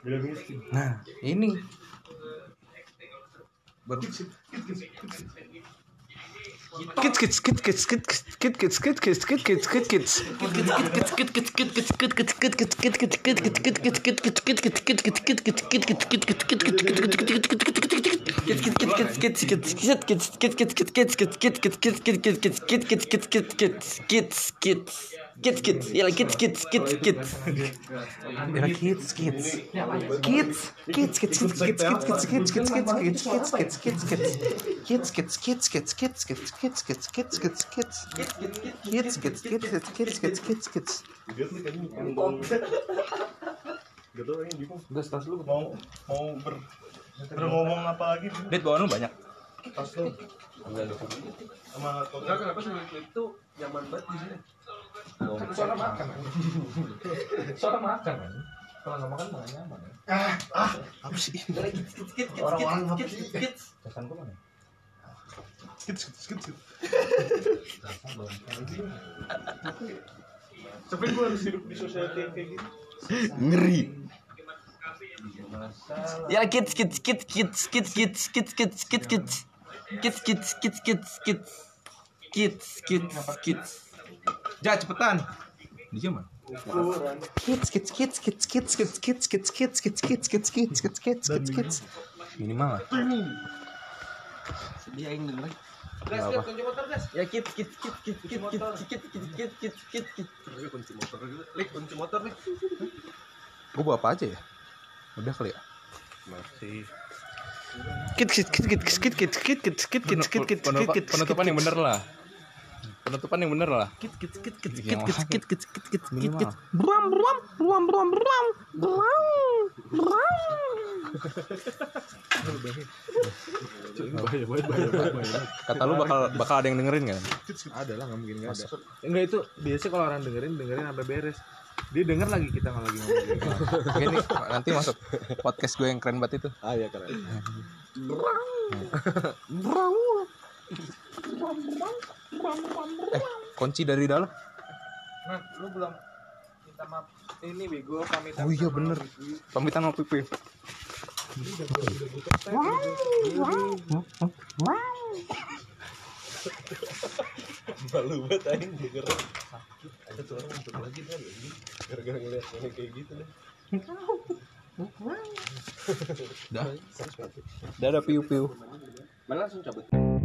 Nah, ini baru Udah tas lu mau berngomong apa lagi? Dit bawa lu banyak. Tas lu. Enggak lu. Sama Kenapa sih itu nyaman banget di sini? suara makan. Soalnya makan kan. Kalau nggak makan nggak nyaman ya. Apa sih? Orang-orang apa sih? Pesan gua mana? Skit. Tapi gue harus hidup di society yang kayak gini. Ngeri. Ya kids. Ja, cepetan. Dia mah. Minimal lah. Dia yang denger. Nggak apa. Ya kids. Kunci motor nih. Gue bawa apa aja ya? Udah kali ya. Masih. Penutupan yang bener lah. Minimal. Bahaya. Kata lu bakal ada yang dengerin kan? Ada lah, nggak mungkin nggak ada. Enggak, itu biasanya kalau orang dengerin sampai beres. Dia denger lagi kita nggak lagi ngomong. Ini nanti masuk podcast gue yang keren banget itu. Ah ya keren. Kunci dari dalam. Nah, lu belum minta maaf. Ini bego pamitan. Oh iya bener. Pamitan sama Pipi. Malu banget aing denger. Ada tuh orang masuk lagi dah anjing. Gara-gara ngeliat ini kayak gitu deh. Dah ada piu-piu. Mana langsung cabut.